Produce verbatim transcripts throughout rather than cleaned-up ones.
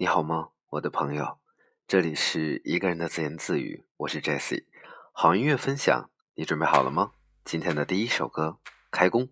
你好吗，我的朋友？这里是一个人的自言自语，我是 Jesse。 好音乐分享，你准备好了吗？今天的第一首歌开工。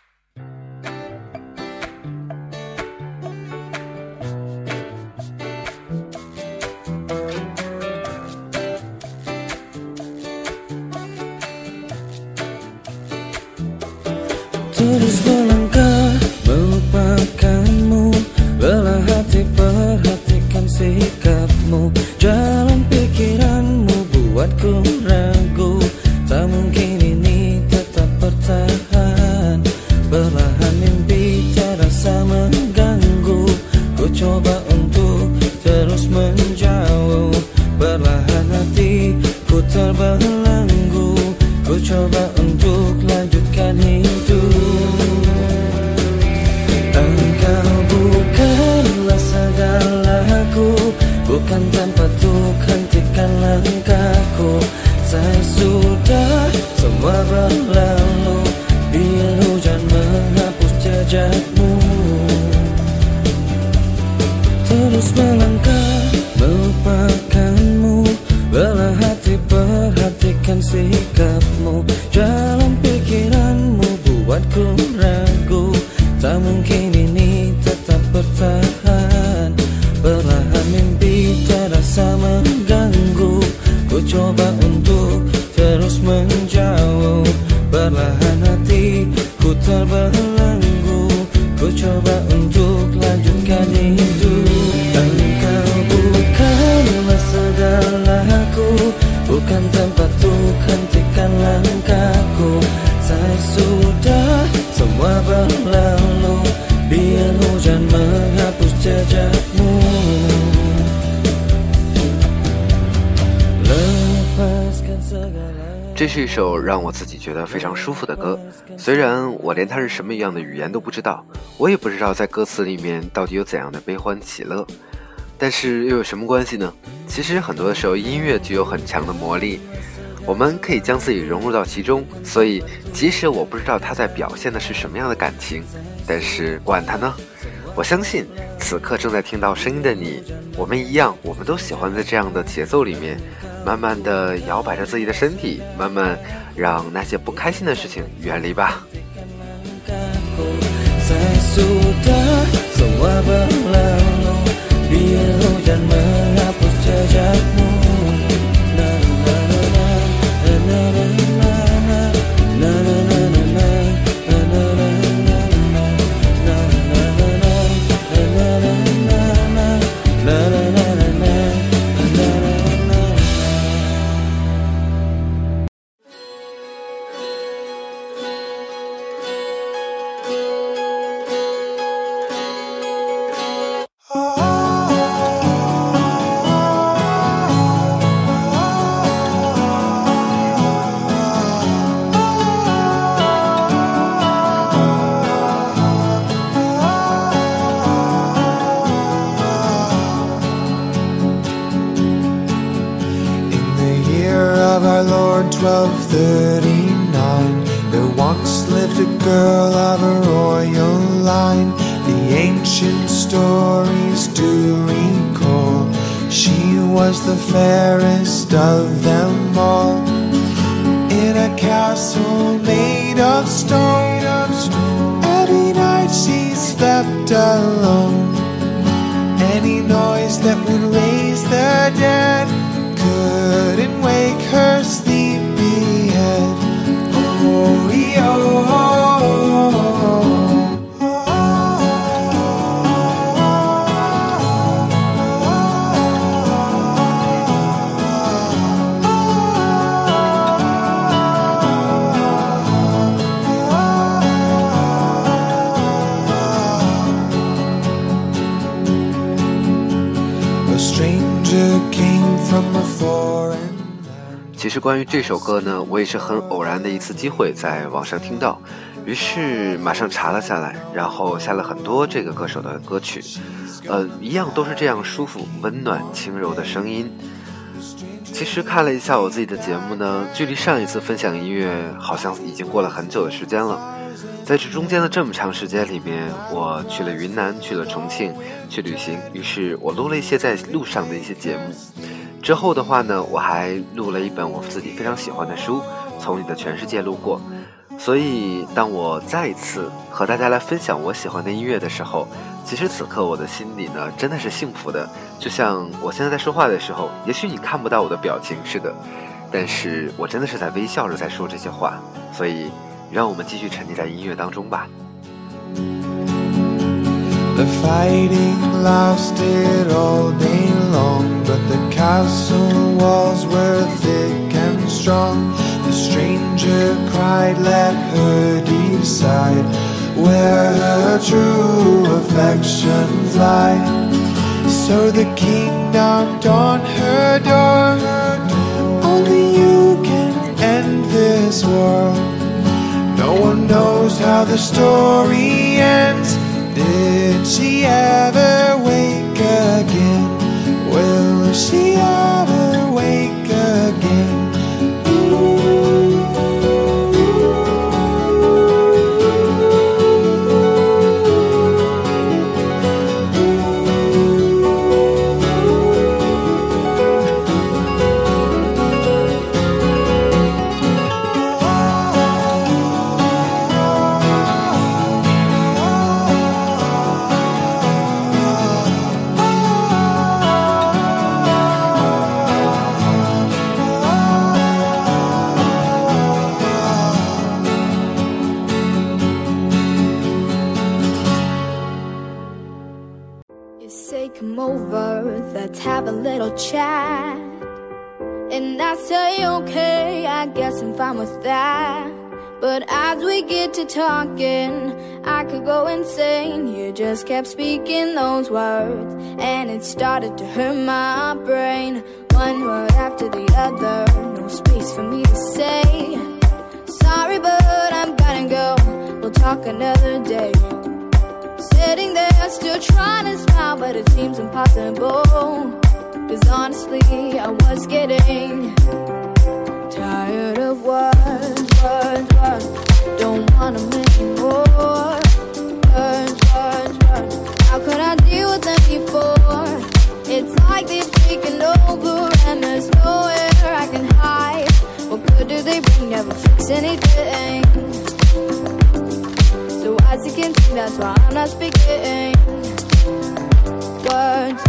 Terus melangkah melupakanmu, belah hati perhatikan sikapmu. Jalan pikiranmu buatku ragu, tak mungkin ini tetap bertahan. Perlahan mimpi terasa mengganggu, ku coba untuk terus menjauh. Perlahan hatiku terbelenggu, ku coba untuk lanjutkan hidup. Engkau bukanlah segalaku, bukan tempatku, hentikan langkahku. Saya sudah semua berlalu, biar hujan menghapus jejakmu. Terus melangkah melupakanmu, belah hati perhatikan sikapmu. Jalan pikiranmu buatku ragu, tak mungkin ini tetap bertahan. Perlahan mimpi terasa mengganggu, ku coba untuk terus menjauh. Perlahan hatiku terbelenggu, ku coba untuk lanjutkan hidup. Engkau bukanlah segalaku, bukan tempatku, hentikan langkahku. Saya sudah semua berlalu, biar hujan menghapus jejakmu. Lepaskan segala。 这是一首让我自己觉得非常舒服的歌，虽然我连它是什么样的语言都不知道，我也不知道在歌词里面到底有怎样的悲欢喜乐，但是又有什么关系呢？其实很多的时候音乐具有很强的魔力，我们可以将自己融入到其中，所以即使我不知道它在表现的是什么样的感情，但是管它呢，我相信此刻正在听到声音的你，我们一样，我们都喜欢在这样的节奏里面慢慢地摇摆着自己的身体，慢慢让那些不开心的事情远离吧。 twelve thirty-nine, there once lived a girl of a royal line. The ancient stories do recall, she was the fairest of them all. In a castle made of stone, every night she slept alone. Any noise that would raise the dead couldn't wake her sleepy head. Oh, a stranger came from a foreign。 其实关于这首歌呢，我也是很偶然的一次机会在网上听到，于是马上查了下来，然后下了很多这个歌手的歌曲，呃，一样都是这样舒服、温暖、轻柔的声音。 其实看了一下我自己的节目呢，距离上一次分享音乐好像已经过了很久的时间了。在这中间的这么长时间里面，我去了云南，去了重庆，去旅行，于是我录了一些在路上的一些节目。之后的话呢，我还录了一本我自己非常喜欢的书，从你的全世界路过。所以当我再一次和大家来分享我喜欢的音乐的时候，其实此刻我的心里呢真的是幸福的，就像我现在在说话的时候，也许你看不到我的表情似的，但是我真的是在微笑着在说这些话。所以让我们继续沉溺在音乐当中吧。 The fighting lasted all day long, but the castle walls were thick and strong. The stranger cried, let her decide where her true affections lie. So the king knocked on her door. Only you can end this war. No one knows how the story ends. Did she ever wake again? Will she ever wake again? Come over, let's have a little chat. And I say okay, I guess I'm fine with that. But as we get to talking, I could go insane. You just kept speaking those words, and it started to hurt my brain. One word after the other, no space for me to say sorry, but I'm gonna go, we'll talk another day. Sitting there still trying to smile, but it seems impossible. Cause honestly I was getting tired of words, words, words. Don't want them anymore. Words, words, words. How could I deal with them before? It's like they've taken over and there's nowhere I can hide. What good do they bring? Never fix anything. So as you can see, that's why I'm not speaking words.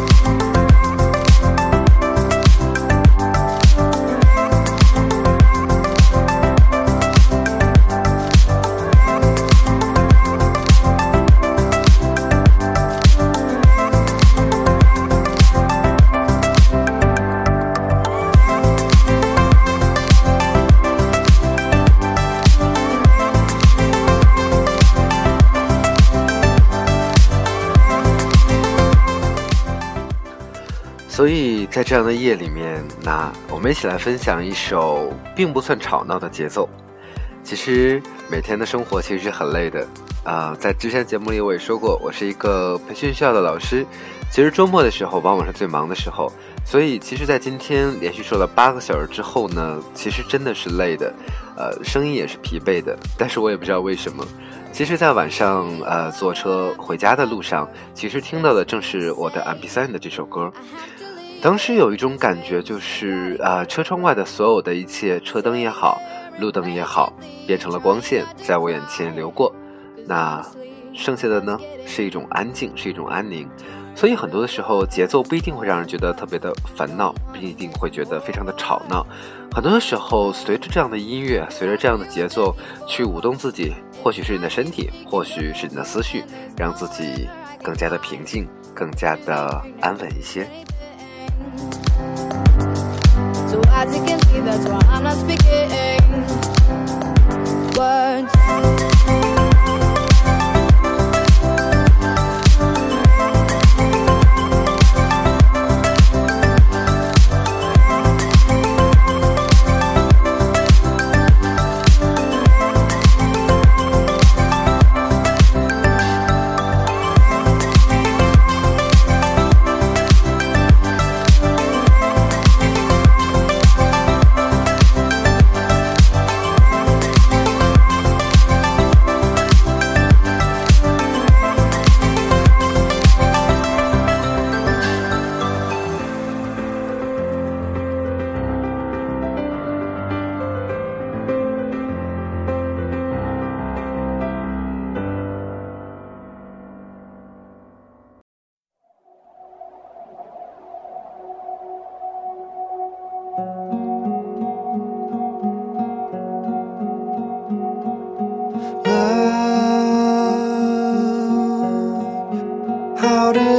所以在这样的夜里面，那我们一起来分享一首并不算吵闹的节奏。其实每天的生活其实是很累的啊、呃，在之前节目里我也说过，我是一个培训学校的老师，其实周末的时候往往是最忙的时候，所以其实在今天连续说了八个小时之后呢，其实真的是累的，呃，声音也是疲惫的，但是我也不知道为什么。其实在晚上呃坐车回家的路上，其实听到的正是我的 M P 三 的这首歌。当时有一种感觉，就是啊、呃，车窗外的所有的一切，车灯也好，路灯也好，变成了光线，在我眼前流过。那剩下的呢，是一种安静，是一种安宁。所以很多的时候，节奏不一定会让人觉得特别的烦恼，不一定会觉得非常的吵闹。很多的时候，随着这样的音乐，随着这样的节奏，去舞动自己，或许是你的身体，或许是你的思绪，让自己更加的平静，更加的安稳一些。 So as you can see, that's why I'm not speaking words.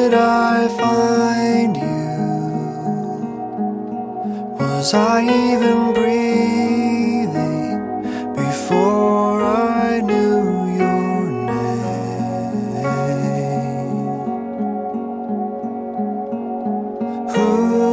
did I find you? Was I even breathing before I knew your name? Who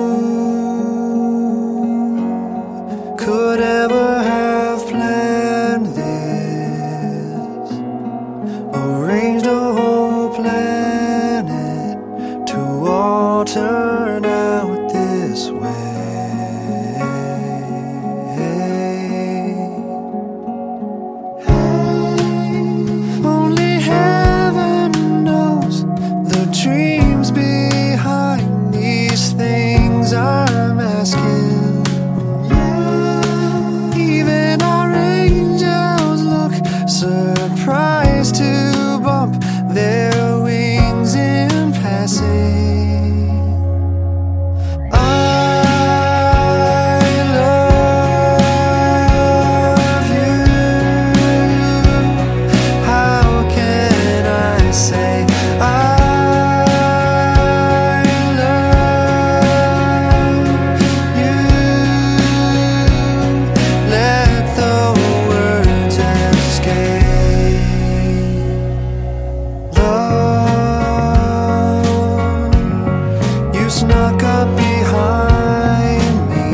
could ever have planned this, arranged a whole planet to all turn out this way? Only heaven knows the dreams behind these things I'm asking. Even our angels look surprised to bump their wings in passing. I love you. How can I say I love you? Let the words escape. Love, you snuck up behind me.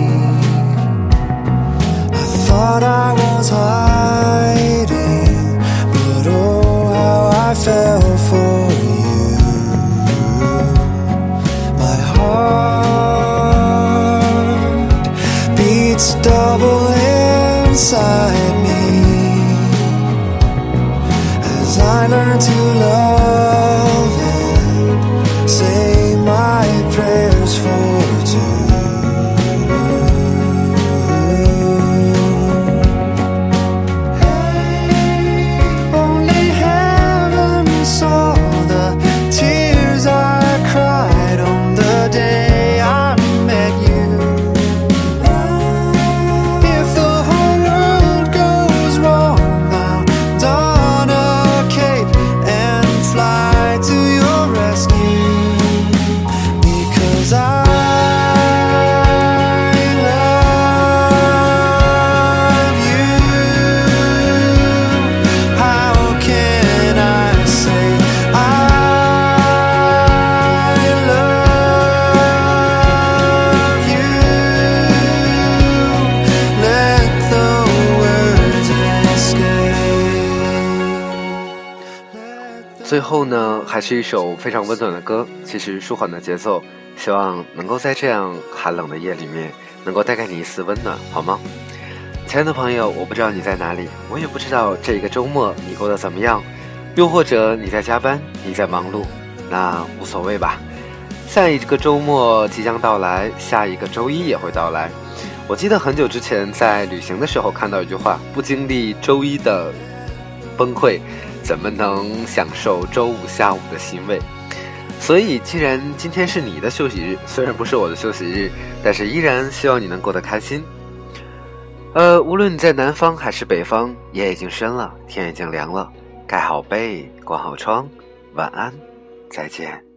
I thought I was hiding, but oh, how I fell for you. My heart beats double inside me as I learn to love and say my prayers for two. Only heaven saw the tears I cried on the day I met you. If the whole world goes wrong, I'll don a cape and fly to your rescue. Because I love you. How can I say I love you? Let the words escape. 最后呢，还是一首非常温暖的歌，其实舒缓的节奏，希望能够在这样寒冷的夜里面，能够带给你一丝温暖，好吗？亲爱的朋友，我不知道你在哪里，我也不知道这一个周末你过得怎么样，又或者你在加班，你在忙碌，那无所谓吧。下一个周末即将到来，下一个周一也会到来。我记得很久之前在旅行的时候看到一句话，不经历周一的崩溃，怎么能享受周五下午的欣慰？所以既然今天是你的休息日，虽然不是我的休息日，但是依然希望你能过得开心。呃，无论你在南方还是北方，夜已经深了，天已经凉了，盖好被，关好窗，晚安，再见。